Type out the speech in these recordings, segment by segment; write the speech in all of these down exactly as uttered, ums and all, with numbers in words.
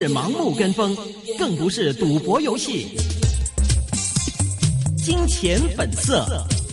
盲目跟風，更不是賭博遊戲。金錢本色。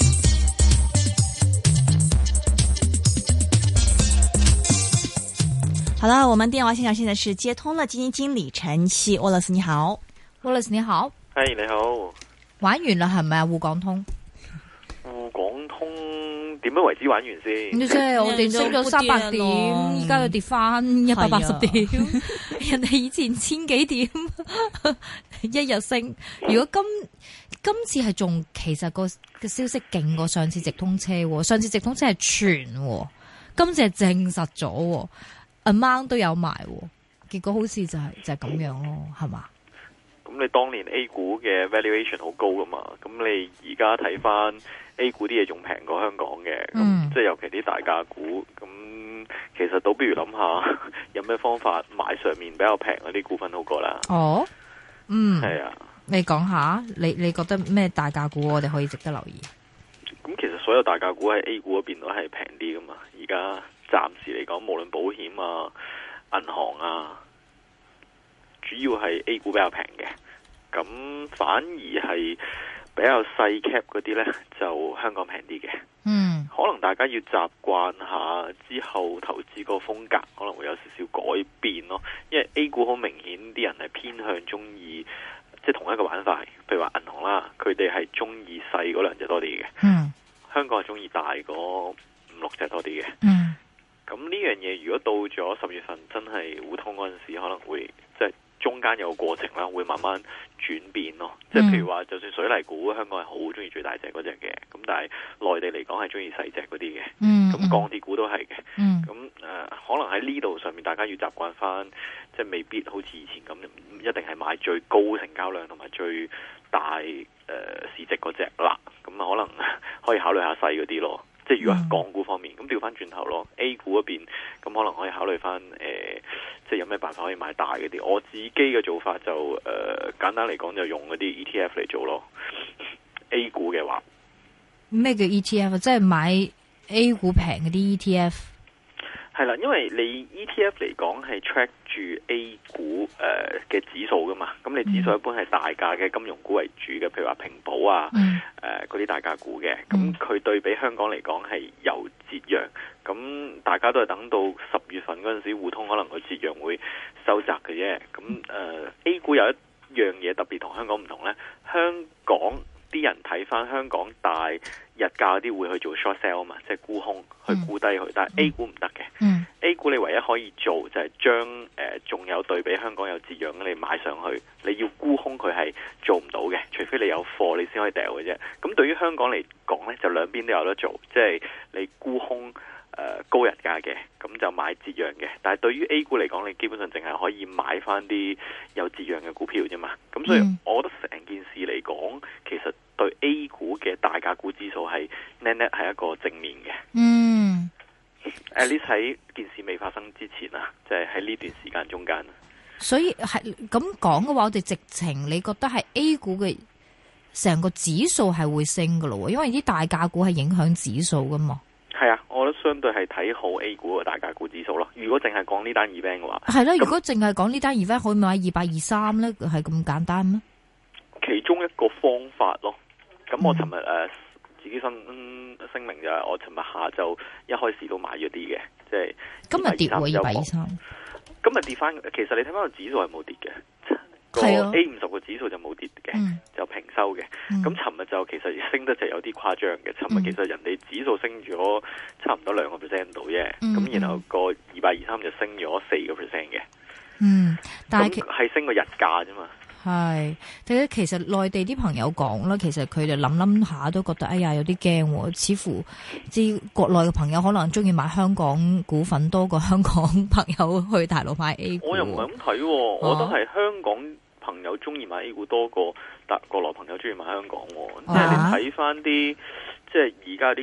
好了，我們電話線上現在是接通了基金經理陳昕 Wallace， 你好 Wallace 你好， 係你好， 玩完啦係咪啊？滬港通， 滬港通點樣為之玩完先？ 即係我哋升咗三百點，而家又跌翻一百八十點，人哋以前千幾點一日升。如果今今次係仲其實個個消息勁過上次直通車，上次直通車係傳，今次係證實咗。amount 都有埋，結果好似就係、是、就係、是、咁樣咯，係嘛？ 咁你當年 A 股嘅 valuation 好高噶嘛？咁你而家睇翻 A 股啲嘢仲平過香港嘅，咁、嗯、即係尤其啲大價股，咁其實倒不如諗下有咩方法買上面比較平嗰啲股份好過啦。 哦，嗯， 係啊， 你講下，你你覺得咩大價股我哋可以值得留意？ 咁其實所有大價股喺 A 股嗰邊都係平啲噶嘛，而家。暫時嚟講，無論保險啊、銀行啊，主要係 A 股比較平嘅，咁反而係比較細 cap 嗰啲呢，就香港平啲嘅。 嗯， 可能大家要習慣下之後投資個風格，可能會有少少改變咯。因為 A 股好明顯啲人係偏向中意，即係同一個板塊，譬如話銀行啦，佢哋係中意細嗰兩隻多啲嘅。 嗯， 香港係中意大嗰五六隻多啲嘅。 嗯。 咁呢樣嘢如果到咗十月份真係互通嗰陣時，可能會即係中間有個過程啦，會慢慢轉變咯。即係譬如話，就算水泥股，香港係好中意最大隻嗰隻嘅，咁但係內地嚟講係中意細隻嗰啲嘅。 嗯， 咁鋼鐵股都係嘅。 嗯， 咁誒、呃，可能喺呢度上面，大家要習慣翻，即係未必好似以前咁，一定係買最高成交量同埋最大誒、呃、市值嗰隻啦。咁可能可以考慮下細嗰啲咯。即係如果係港股方面，咁調翻轉頭咯 ，A 股嗰邊咁可能可以考慮翻誒，即係有咩辦法可以買大嗰啲。我自己嘅做法就誒、呃，簡單嚟講就用嗰啲 E T F 嚟做咯。A 股嘅話， 咩叫 E T F？ 即係買 A 股平嗰啲 E T F。 係啦，因為你 E T F 嚟講係 track 住 A 股誒嘅指數噶嘛，咁你指數一般係大價嘅金融股為主嘅，譬如話平保啊，誒嗰啲大價股嘅，咁佢對比香港嚟講係有折讓，咁大家都係等到十月份嗰陣時互通，可能個折讓會收窄嘅啫。咁誒、呃、A 股有一樣嘢特別同香港唔同呢，香港啲人睇翻香港大日價啲會去做 short sell 啊嘛，即係沽空去沽低佢，嗯、但係 A 股唔得嘅。 嗯、 A 股你唯一可以做就係將誒仲有對比香港有折讓你買上去，你要沽空佢係做唔到嘅，除非你有貨你先可以掉嘅啫。咁對於香港嚟講呢，就兩邊都有得做，即係你沽空誒、呃、高日價嘅，咁就買折讓嘅。但係對於 A 股嚟講，你基本上淨係可以買翻啲有折讓嘅股票啫嘛。咁所以我覺得成件事嚟講，其實對 A 股嘅大價股指數係 net net 係一個正面嘅。 嗯 ，at least 喺件事未發生之前啊，即係喺呢段時間中間。 所以係咁講嘅話，我哋直情你覺得係 A 股嘅成個指數係會升噶咯？因為啲大價股係影響指數噶嘛。 係啊，我覺得相對係睇好 A 股嘅大價股指數咯。如果淨係講呢單 event 嘅話， 係啦。如果淨係講呢單 event，可以買二百二三咧，係咁簡單咩？ 其中一個方法咯。咁我尋日誒自己申、嗯、聲明就係我尋日下晝一開始都買咗啲嘅，即係今日跌喎二百二三。 今日跌翻，其實你睇翻個指數係冇跌嘅，個 A 五十個指數就冇跌嘅， 嗯、 就平收嘅。咁尋日就其實升得就有啲誇張嘅。尋日其實人哋指數升咗差唔多兩個 percent 度啫，咁、嗯、然後個二百二三就升咗四個 percent 嘅。 嗯，但係係升個日價啫嘛。 係，但係其實內地啲朋友講啦，其實佢哋諗諗下都覺得，哎呀有啲驚，似乎即國內嘅朋友可能中意買香港股份多過香港朋友去大陸買 A 股。 我又唔係咁睇，我覺得係香港朋友中意買 A 股多過但國內朋友中意買香港。啊、即係你睇翻啲，即係而家啲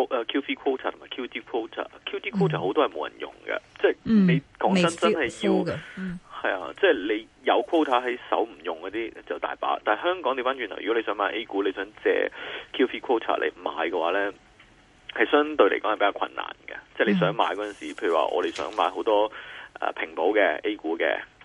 Q V quota 同埋 Q D quota，Q D quota 好多係冇人用嘅，嗯、即係你講真真係要嘅。係啊，即係你有 quota 喺手唔用嗰啲就大把，但係香港調翻轉頭，如果你想買 A 股，你想借 Q V quota 嚟買嘅話呢，係相對嚟講係比較困難嘅。即係你想買嗰陣時，譬如話我哋想買好多誒平保嘅 A 股嘅，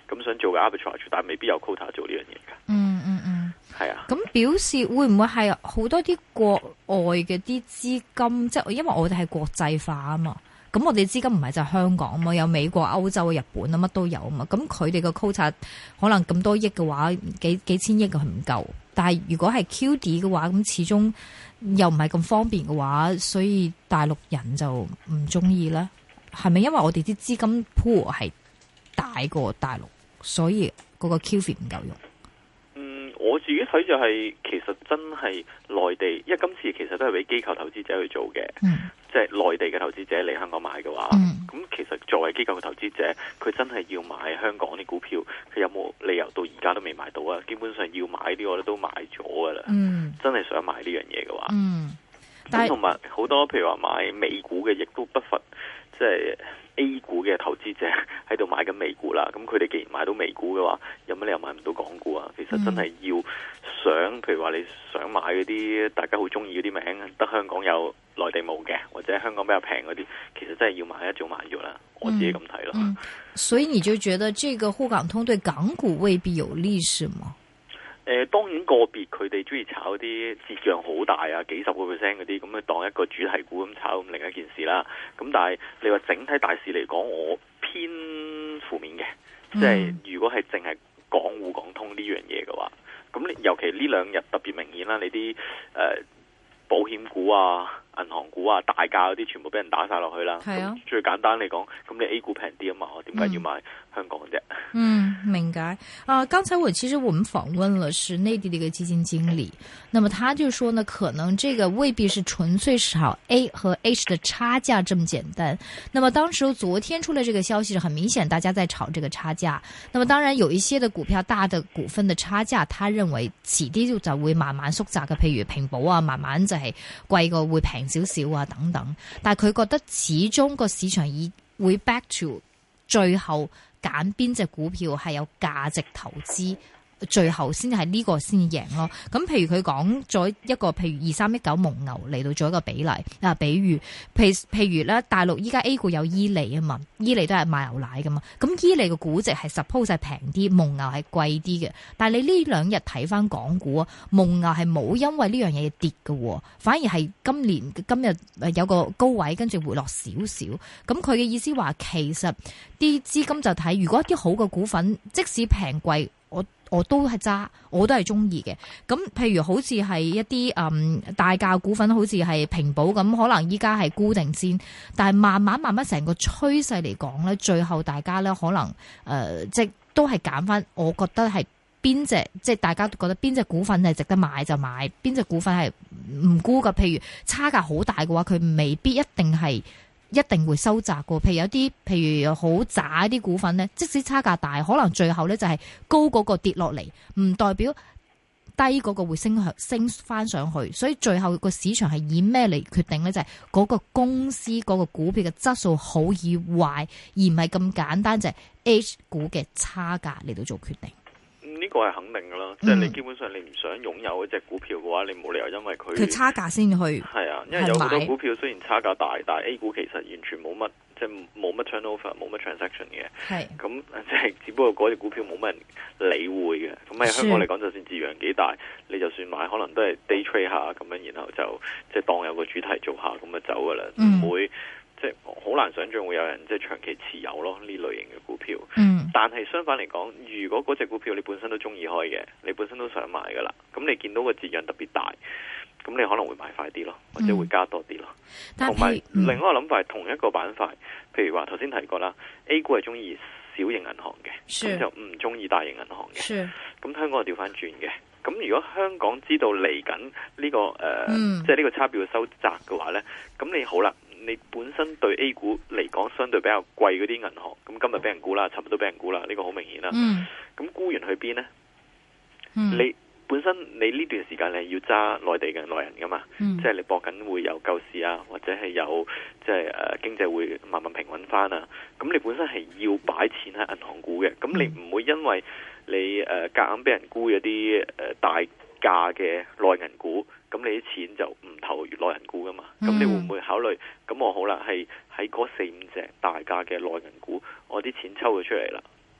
咁想做嘅 arbitrage，但係未必有 quota 做呢樣嘢㗎。 嗯嗯嗯， 係啊。 咁表示會唔會係好多啲國外嘅啲資金，即係因為我哋係國際化啊嘛。咁我哋資金唔係就係香港啊嘛，有美國、歐洲、日本啊，乜都有啊嘛。咁佢哋個 quota 可能咁多億嘅話，幾幾千億嘅係唔夠。但係如果係 Q D 嘅話，咁始終又唔係咁方便嘅話，所以大陸人就唔中意啦。係咪因為我哋啲資金 pool 係大過大陸，所以嗰個 Q F I 唔夠用？ 嗯，我自己睇就係、是、其實真係內地，因為今次其實都係俾機構投資者去做嘅。嗯，即係內地嘅投資者嚟香港買嘅話，咁、嗯、其實作為機構嘅投資者，佢真係要買香港啲股票，佢有冇理由到而家都未買到啊？基本上要買啲我咧都買咗噶啦。嗯，真係想買呢樣嘢嘅話，嗯，咁同埋好多譬如話買美股嘅，亦都不乏即係 A 股嘅投資者喺度買緊美股啦。咁佢哋既然買到美股嘅話，有乜理由買唔到港股啊？其實真係要想，譬如話你想買嗰啲大家好中意嗰啲名，得香港有內地冇嘅，或者香港比較平嗰啲，其實真係要買一早買咗啦。我自己咁睇咯。 嗯嗯，所以你就覺得這個滬港通對港股未必有利是嗎？ 誒、呃，當然個別佢哋中意炒啲折讓好大啊，幾十個 percent 嗰啲，咁去當一個主題股咁炒，咁另一件事啦。咁但係你話整體大市嚟講，我偏負面嘅，即係如果係淨係港滬港通呢樣嘢嘅話，咁你尤其呢兩日特別明顯啦，你啲誒、呃、保險股啊、銀行股啊、大價嗰啲全部俾人打晒落去啦。係啊，最簡單嚟講，咁你 A 股平啲啊嘛，我點解要買香港啫？ 嗯，明解。啊，剛才我其實我們訪問了是內地的一個基金經理，那麼他就說呢，可能這個未必是純粹是炒 A 和 H 的差價這麼簡單。那麼當時昨天出來這個消息是很明顯，大家在炒這個差價。那麼當然有一些的股票大的股份的差價，他認為遲啲就會慢慢縮窄嘅，譬如平保啊，慢慢就係貴過會平少少啊等等。但係佢覺得始終個市場已會 back to 最後。揀邊隻股票係有價值投資，最後先係呢個先贏咯。咁譬如佢講咗一個，譬如二三一九蒙牛嚟到做一個比例啊，比喻，譬譬如咧，大陸依家 A 股有伊利啊嘛，伊利都係賣牛奶噶嘛，咁伊利嘅估值係 suppose 係平啲，蒙牛係貴啲嘅。但係你呢兩日睇翻港股啊，蒙牛係冇因為呢樣嘢跌嘅，反而係今年今日有個高位，跟住回落少少。咁佢嘅意思話，其實啲資金就睇，如果一啲好嘅股份，即使平貴，我我都係揸，我都係中意嘅。咁譬如好似係一啲嗯大價股份，好似係平保咁，可能依家係固定先，但係慢慢慢慢成個趨勢嚟講咧，最後大家咧可能誒、呃、即係都係揀翻，我覺得係邊隻即係大家都覺得邊隻股份係值得買就買，邊隻股份係唔沽㗎。譬如差價好大嘅話，佢未必一定係。一定會收窄嘅，譬如有啲，譬如好渣啲股份咧，即使差價大，可能最後咧就係高嗰個跌落嚟，唔代表低嗰個會升向升翻上去，所以最後個市場係以咩嚟決定咧？就係、是、嗰個公司嗰個股票嘅質素好與壞，而唔係咁簡單就係 H 股嘅差價嚟到做決定。 呢個係肯定噶啦，即係你基本上你唔想擁有一隻股票嘅話，你冇理由因為佢佢差價先去係啊，因為有好多股票雖然差價大，但係 A 股其實完全冇乜，即係冇乜 turnover，冇乜 transaction 嘅。係咁即係只不過嗰隻股票冇乜人理會嘅。咁喺香港嚟講，就算字樣幾大，你就算買，可能都係 day trade 下咁樣，然後就即係當有個主題做下咁就走噶啦，唔、嗯、會。即係好難想象會有人即係長期持有咯呢類型嘅股票。嗯，但係相反嚟講，如果嗰隻股票你本身都中意開嘅，你本身都想買噶啦，咁你見到個折讓特別大，咁你可能會買快啲咯，或者會加多啲咯。同、嗯、埋另外一個諗法係同一個板塊，譬如話頭先提過啦 ，A 股係中意小型銀行嘅，咁就唔中意大型銀行嘅。咁香港係調翻轉嘅。咁如果香港知道嚟緊呢個誒，呃嗯、即係呢個差別會收窄嘅話咧，咁你好啦。你本身對 A 股嚟講相對比較貴嗰啲銀行，咁今日俾人沽啦，尋日都俾人沽啦，呢、這個好明顯啦。咁、嗯、沽完去邊呢？嗯、你本身你呢段時間你係要揸內地嘅內人噶嘛？嗯、即係你搏緊會有救市啊，或者係有即係誒、呃、經濟會慢慢平穩翻啊。咁你本身係要擺錢喺銀行股嘅，咁你唔會因為你誒夾硬俾人沽咗啲誒大價嘅內銀股。咁你啲錢就唔投內銀股噶嘛？咁、嗯、你會唔會考慮？咁我好啦，係喺嗰四五隻大價嘅內銀股，我啲錢抽咗出嚟啦。咁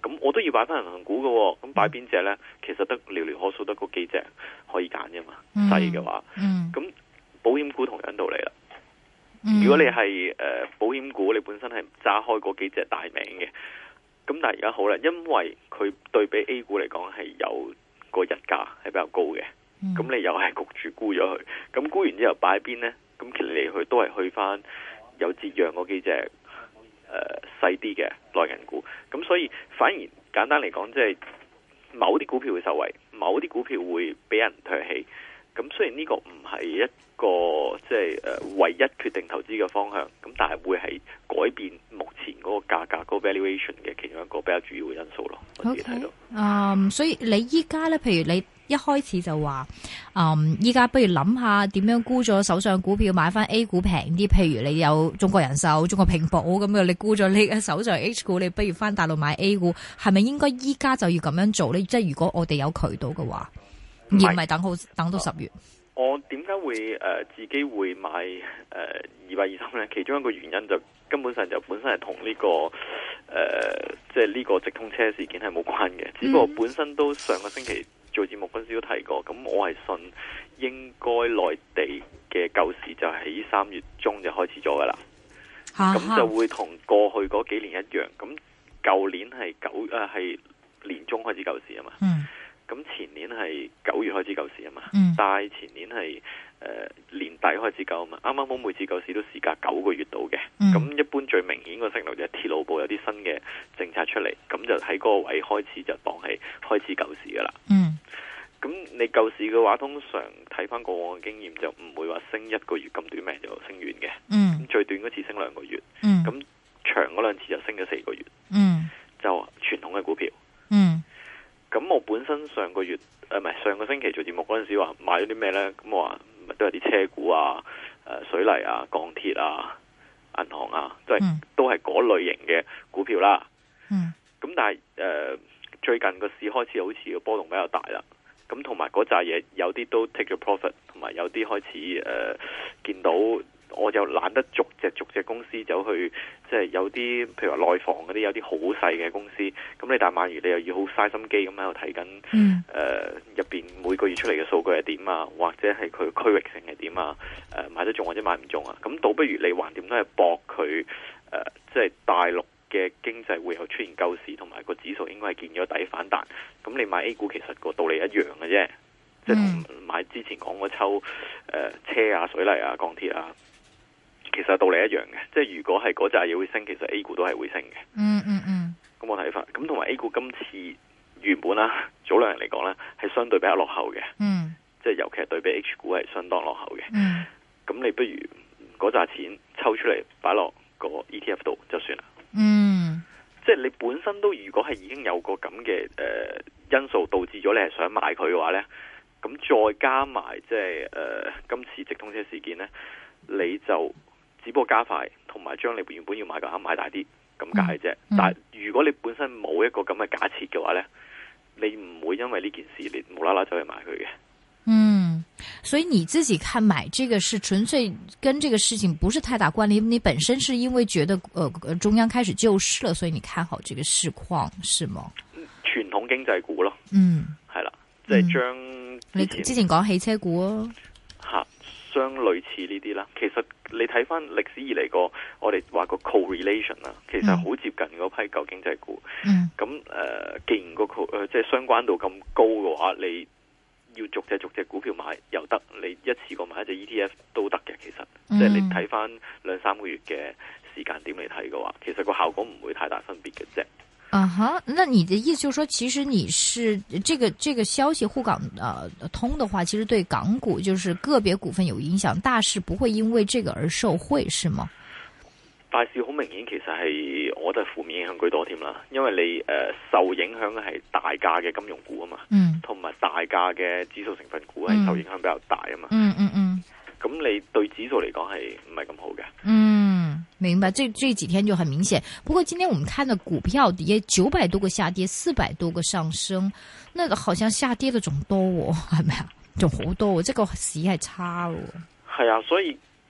咁我都要擺翻銀行股嘅，咁擺邊隻呢？其實得寥寥可數得嗰幾隻可以揀啫嘛。細嘅話，咁、嗯、保險股同樣道理啦。嗯、如果你係誒、呃、保險股，你本身係揸開嗰幾隻大名嘅，咁但係而家好啦，因為佢對比 A 股嚟講係有個日價係比較高嘅，咁、嗯、你又係焗住沽咗佢，咁沽完之後擺邊呢？咁其實嚟去都係去翻有折讓嗰幾隻誒、呃、細啲嘅內銀股，咁所以反而簡單嚟講，即係某啲股票會受惠，某啲股票會俾人唾棄。咁雖然呢個唔係一個即係誒唯一決定投資嘅方向，咁但係會係改變目前嗰個價格嗰個 valuation 嘅其中一個比較主要嘅因素咯。我自己睇到。嗯、okay. um, 所以你依家咧，譬如你一開始就話，嗯，依家不如諗下點樣沽咗手上股票買翻 A 股平啲。譬如你有中國人壽、中國平保咁樣，你沽咗你嘅手上 H 股，你不如翻大陸買 A 股，係咪應該依家就要咁樣做咧？即係如果我哋有渠道嘅話。而唔係等好等到十月。我點解會誒、呃、自己會買誒二百二三咧？其中一個原因就根本上就本身係同呢個誒即係呢個直通車事件係冇關嘅。只不過本身都上個星期做節目嗰時都提過，咁我係信應該內地嘅救市就喺三月中就開始咗噶啦。咁就會同過去嗰幾年一樣。咁舊年係九誒係年中開始救市啊嘛。嗯。咁前年係九月開始救市啊嘛，嗯、但係前年係誒、呃、年底開始救啊嘛，啱啱好每次救市都時隔九個月到嘅。咁、嗯、一般最明顯個息率就係鐵路部有啲新嘅政策出嚟，咁就喺嗰個位開始就當係開始救市噶啦。咁、嗯、你救市嘅話，通常睇翻過往嘅經驗，就唔會話升一個月咁短命就升完嘅。咁、嗯、最短嗰次升兩個月，咁、嗯、長嗰兩次就升咗四個月。嗯、就傳統嘅股票。嗯咁我本身上個月誒唔係上個星期做節目嗰陣時話買咗啲咩呢？咁我話都有啲車股啊、誒水泥啊、鋼鐵啊、銀行啊，都係、嗯、都係嗰類型嘅股票啦。嗯。咁但係誒、呃、最近個市開始好似個波動比較大啦。咁同埋嗰扎嘢有啲都 take 咗 profit， 同埋有啲開始誒、呃、見到。我就懶得逐隻逐隻公司走去，即係有啲譬如話內房嗰啲有啲好細嘅公司，咁你大萬如你又要好嘥心機咁喺度睇緊，誒入邊每個月出嚟嘅數據係點啊，或者係佢區域性係點啊，誒、呃、買得中或者買唔中啊，咁倒不如你橫掂都係搏佢，誒即係大陸嘅經濟會有出現救市，同埋個指數應該係見咗底反彈，咁你買 A 股其實個道理一樣嘅啫，即係同買之前講嗰抽誒、呃、車啊、水泥啊、鋼鐵啊。其實道理一樣嘅，即係如果係嗰扎嘢會升，其實 A 股都係會升嘅。嗯嗯嗯。咁我睇法，咁同埋 A 股今次原本啦，早兩日嚟講咧，係相對比較落後嘅。嗯。即係尤其係對比 H 股係相當落後嘅。嗯。咁你不如嗰扎錢抽出嚟擺落個 E T F 度就算啦。嗯。即係你本身都如果係已經有個咁嘅誒因素導致咗你係想買佢嘅話咧，咁再加埋即係誒、呃、今次直通車事件咧，你就。只不過加快，同埋將你原本要買嘅額買大啲，咁解啫。嗯嗯、但係如果你本身冇一個咁嘅假設嘅話呢，你唔會因為呢件事你無啦啦走去買佢嘅。嗯，所以你自己看買這個是純粹跟這個事情不是太大關聯，你本身是因為覺得，呃，中央開始救市了，所以你看好這個市況，是嗎？傳統經濟股咯，嗯，係啦，即係將你之前講汽車股啊。相類似呢啲啦，其實你睇翻歷史以嚟個，我哋話個 correlation 啦，其實好接近嗰批舊經濟股。咁誒、嗯呃，既然個誒即係相關度咁高嘅話，你要逐隻逐隻股票買又得，你一次過買一隻 E T F 都得嘅。其實，嗯、即係你睇翻兩三個月嘅時間點嚟睇嘅話，其實個效果唔會太大分別嘅啫。啊哈，那你的意思就是說，其實你是這個這個消息滬港呃通的話，其實對港股就是個別股份有影響，大市不會因為這個而受惠，是嗎？大市好明顯，其實係我覺得負面影響居多添啦，因為你誒、呃、受影響嘅係大價嘅金融股啊嘛，嗯，同埋大價嘅指數成分股係受影響比較大啊嘛，嗯嗯嗯，咁、嗯嗯、你對指數嚟講係唔係咁好嘅，嗯。明白，這這幾天就很明顯。不過今天我們看的股票跌九百多個下跌，四百多個上升，那個好像下跌的仲多喎，係咪啊？仲好多喎，即係個市係差喎。係啊，所以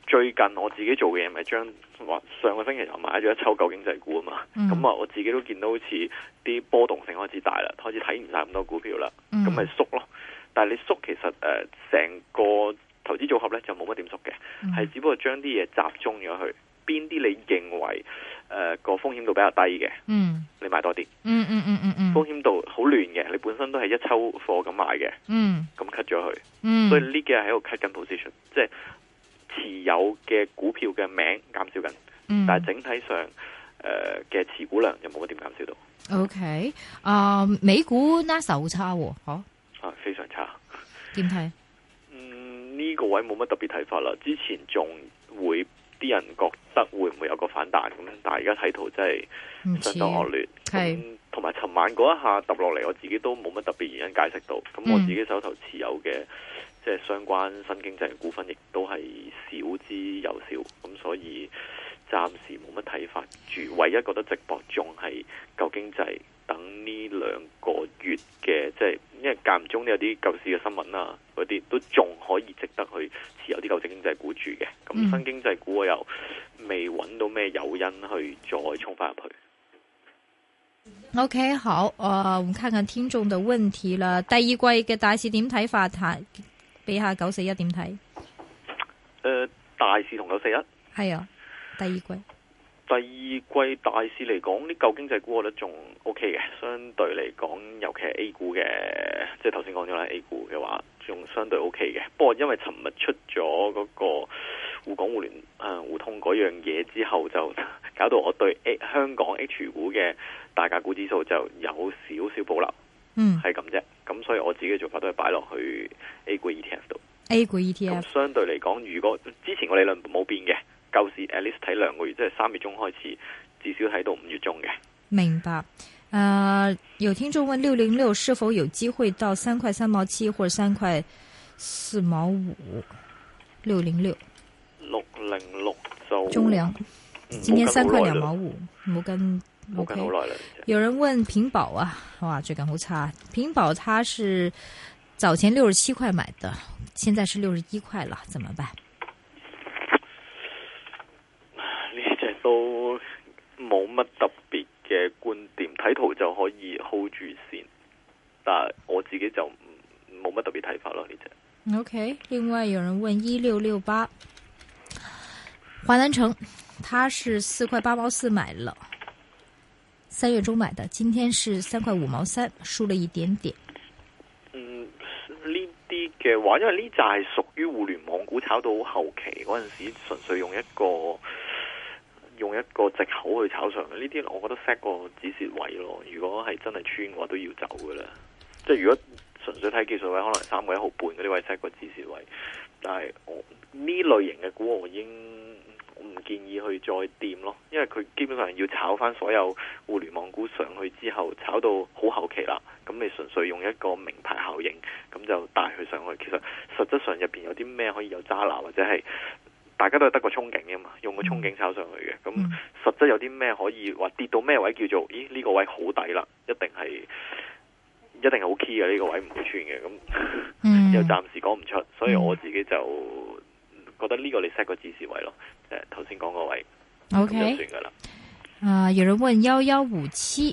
最近我自己做嘅嘢咪將話上個星期又買咗一抽舊經濟股啊嘛，咁啊、嗯、我自己都見到好似啲波動性開始大啦，開始睇唔晒咁多股票啦，咁咪、嗯、縮咯。但係你縮其實誒成、呃、個投資組合咧就冇乜點縮嘅，係、嗯、只不過將啲嘢集中咗去邊啲你認為誒個、呃、風險度比較低嘅，嗯，你買多啲，嗯嗯嗯嗯嗯，風險度好亂嘅，你本身都係一抽貨咁買嘅，嗯，咁 cut 咗佢，嗯，所以呢幾日喺度 cut 緊 position， 即係持有嘅股票嘅名減少緊，嗯、但係整體上誒嘅、呃、持股量又冇乜點減少到。 OK， 啊、uh, 美股 NASA 好差喎，吓、啊， 啊非常差， 點睇？ 嗯，呢、這個位冇乜特別睇法啦。之前仲會啲人覺得會唔會有個反彈咁，但係而家睇圖真係相當惡劣。係，同埋尋晚嗰一下揼落嚟，我自己都冇乜特別原因解釋到。咁、嗯、我自己手頭持有嘅即係相關新經濟嘅股份，亦都係少之又少。咁所以暫時冇乜睇法住。唯一覺得值博仲係舊經濟。等呢兩個月嘅，即係因為間唔中都有啲救市嘅新聞啊，嗰啲都仲可以值得去持有啲舊經濟股住嘅。咁、嗯、新經濟股我又未揾到咩誘因去再衝翻入去。 OK， 好，誒、呃，我們看看聽眾的問題啦。第二季嘅大市點睇法？睇，俾下九四一點睇？誒、 呃，大市同九四一係啊，第二季。 第二季大市嚟講，啲舊經濟股我覺得仲 O K 嘅，相對嚟講，尤其係 A 股嘅，即係頭先講咗啦 A 股嘅話，仲相對 O K 嘅。不過因為尋日出咗嗰個滬港互聯誒互通嗰樣嘢之後，就搞到我對 A 香港 H 股嘅大價股指數就有少少保留。嗯，係咁啫。咁所以我自己嘅做法都係擺落去 A 股 E T F 度。 A 股 E T F 相對嚟講，如果之前個理論冇變嘅。舊時 at least 睇兩個月，即係三月中開始，至少睇到五月中嘅。 明白。誒、呃，有聽眾問六零六是否有機會到三塊三毛七或者三塊四毛五？六零六，六零六就中糧，今天三塊兩毛五，冇跟冇跟好耐啦。 有人問平保啊，哇，最近好差。平保它是早前六十七塊買的，現在是六十一塊了，怎麼辦？ 都冇乜特別嘅觀點，睇圖就可以 hold 住先，但係我自己就冇乜特別睇法咯呢隻。 OK， 另外有人問一六六八華南城，他是四塊八毛四買了，三月中買的，今天是三塊五毛三，輸了一點點。 嗯，呢啲嘅話，因為呢隻係屬於互聯網股，炒到後期嗰陣時，純粹用一個。用一個藉口去炒上嘅呢啲，我覺得 set 個止蝕位咯。如果係真係穿嘅話，都要走嘅啦。即係如果純粹睇技術位，可能三個一毫半嗰啲位 set 個止蝕位。但係我呢類型嘅股，我已經唔建議去再掂咯，因為佢基本上要炒翻所有互聯網股上去之後，炒到好後期啦。咁你純粹用一個名牌效應，咁就帶佢上去。其實實質上入邊有啲咩可以有揸拿，或者係？大家都係得個憧憬嘅嘛，用個憧憬炒上去嘅。咁、嗯、實質有啲咩可以話跌到咩位叫做？咦呢、呢個位好抵啦，一定係一定係好 key 嘅呢、呢個位唔會穿嘅。咁、嗯、又暫時講唔出，所以我自己就覺得呢個你 set 個指示位咯。誒頭先講個位 ，OK 就算噶啦。啊、呃，有人問幺幺五七，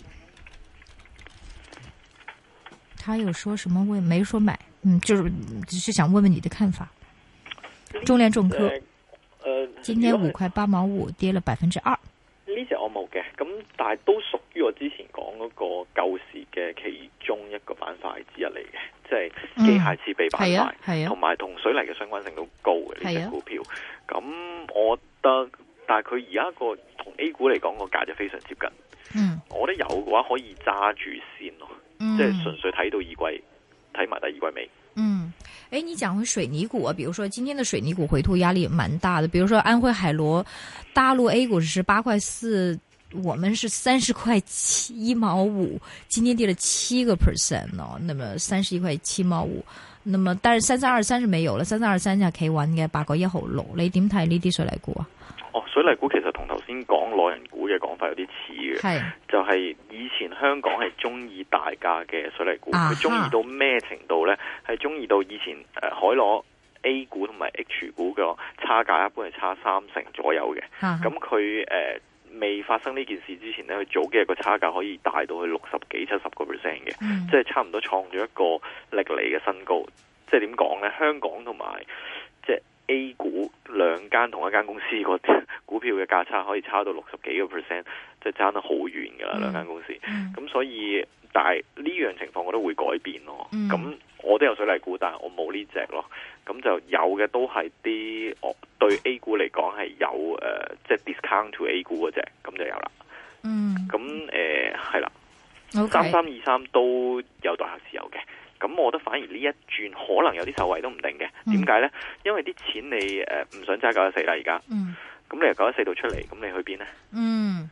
他有說什麼問？沒說買，嗯，就是只是想問問你的看法。中聯重科。 誒， 今天五塊八毛五跌了百分之二。 呢隻我冇嘅，咁但係都屬於我之前講嗰個救市嘅其中一個板塊之一嚟嘅，即係機械設備板塊，同埋同水泥嘅相關性都高嘅呢隻股票。咁、啊、我覺得，但係佢而家個同 A 股嚟講個價就非常接近。嗯，我覺得有嘅話可以揸住先咯，嗯、即係純粹睇到二季，睇埋第二季尾。 嗯。誒，你講回水泥股啊，比如說今天的水泥股回吐壓力也蠻大的，比如說安徽海螺，大陸 A 股是八塊四，我們是三十塊七一毛五，今天跌了七個 percent 咯，那麼三十一塊七毛五，那麼但是三三二三是沒有了，三三二三就企穩嘅八個一毫六，你點睇呢啲水泥股啊？ 哦，水泥股其實同頭先講內銀股嘅講法有啲似嘅，係就係以前香港係中意大價嘅水泥股，佢中意到咩程度呢？係中意到以前誒、呃、海螺 A 股同埋 H 股嘅差價一般係差三成左右嘅。咁佢誒未發生呢件事之前咧，佢早幾日個差價可以大到去六十幾、七十個 percent 嘅，嗯、即係差唔多創咗一個歷嚟嘅新高。即係點講呢？香港同埋即係 A 股兩間同一間公司個股票嘅價差可以差到六十幾個 percent， 即係爭得好遠噶啦兩間公司。咁、嗯、所以，但係呢樣情況我都會改變咯。咁、嗯、我都有水泥股，但係我冇呢隻咯。咁就有嘅都係啲我對 A 股嚟講係有誒，即、呃、係、就是、discount to A 股嗰隻，咁就有啦。嗯。咁誒係啦，三三二三都有代客持有嘅。咁我覺得反而呢一轉可能有啲受惠都唔定嘅。點解呢？因為啲錢你誒唔、呃、想揸九一四啦而家。嗯。咁你由九一四度出嚟，咁你去邊呢？嗯。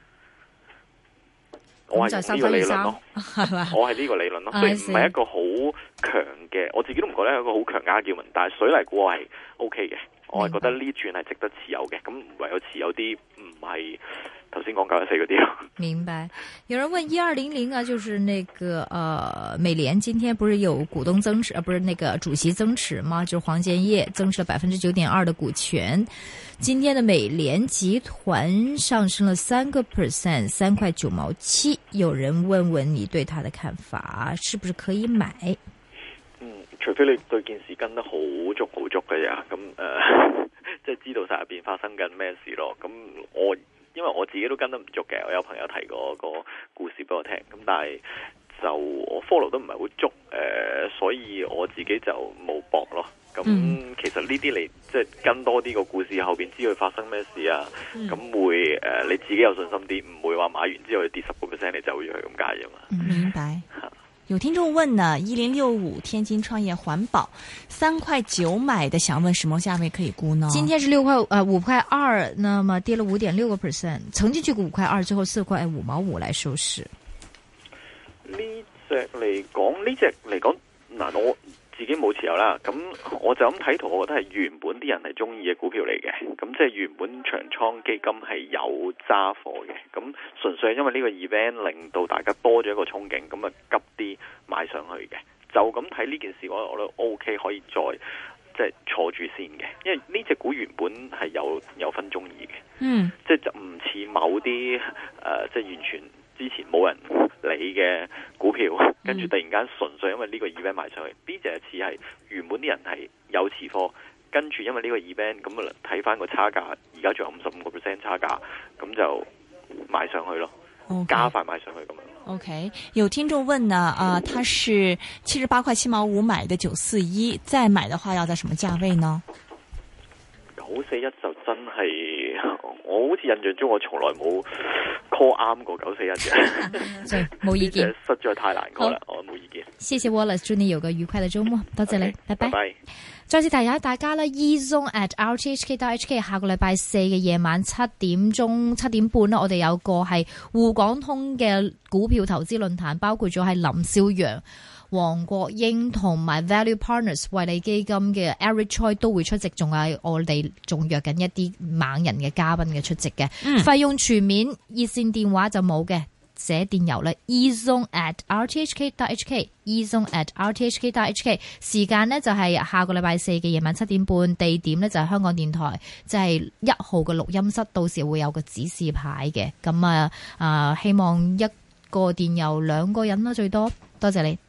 我係呢個理論咯，我係呢個理論咯，所以唔係一個好強嘅，我自己都唔覺得係一個好強嘅argument，但係水泥股我係 O K 嘅，我係覺得呢轉係值得持有嘅，咁唯有持有啲唔係頭先講九一四嗰啲咯。明白。 有人問一二零零啊，就是那個呃美聯今天不是有股東增持，呃不是那個主席增持嗎？就是黃建業增持了百分之九點二的股權。今天的美聯集團上升了三個 percent， 三塊九毛七。有人問問你對他的看法，是不是可以買？ 嗯，除非你對件事跟得好足好足嘅呀，咁誒、呃，即係知道晒入邊發生緊咩事咯。咁我因為我自己都跟得唔足嘅，我有朋友提過個故事俾我聽，咁但係就我 follow 都唔係好足，誒、呃，所以我自己就冇搏咯。咁、嗯、其實呢啲你即係跟多啲個故事後邊知佢發生咩事啊，咁、嗯、會誒、呃、你自己有信心啲，唔會話買完之後佢跌十個 percent 你走咗去咁解啫嘛。 明白。有聽眾問呢，一零六五天津創業環保三塊九買的，想問什麼價位可以沽呢？ 今天是六塊呃五塊二，那麼跌了五點六個 percent， 曾經去過五塊二，最後四塊五毛五來收市。 呢隻嚟講，呢隻嚟講嗱我。自己冇持有啦，咁我就咁睇圖，我覺得係原本啲人係中意嘅股票嚟嘅，咁即係原本長倉基金係有揸貨嘅，咁純粹係因為呢個 event 令到大家多咗一個憧憬，咁啊急啲買上去嘅，就咁睇呢件事我我都 OK 可以再即係坐住先嘅，因為呢隻股原本係有有分中意嘅，嗯，即係就唔似某啲誒、呃、即係完全。之前冇人理嘅股票，跟住突然間純粹因為呢個 event 賣上去，呢隻似係原本啲人係有持貨，跟住因為呢個 event 咁啊睇翻個差價，而家仲有五十五個 percent 差價，咁就買上去咯，okay. 加快買上去咁樣。 OK， 有聽眾問呢，啊、呃，他是七十八塊七毛五買的九四一，再買的話要在什麼價位呢？ 九四一就真係，我好似印象中我從來冇 call 啱過九四一嘅， 冇意見， 實在太難 call 啦，我冇意見。 謝謝 Wallace， 祝你有個愉快嘅周末，多謝你， okay, 拜拜。 拜拜。 再次提醒大家咧 ，eZone at r t h k dot h k 下個禮拜四嘅夜晚七點鐘七點半咧，我哋有個係滬港通嘅股票投資論壇，包括咗係林少陽、黃國英同埋 Value Partners 惠理基金嘅 Eric Choi 都會出席，仲有我哋仲約緊一啲猛人嘅嘉賓嘅出席嘅，嗯、費用全面，熱線電話就冇嘅。寫電郵咧 eZone at r t h k dot h k eZone at r t h k dot h k 時間呢就係下個禮拜四嘅夜晚七點半，地點呢就係香港電台，就係一號嘅錄音室，到時會有個指示牌嘅。咁啊啊，希望一個電郵兩個人啦最多，多謝你。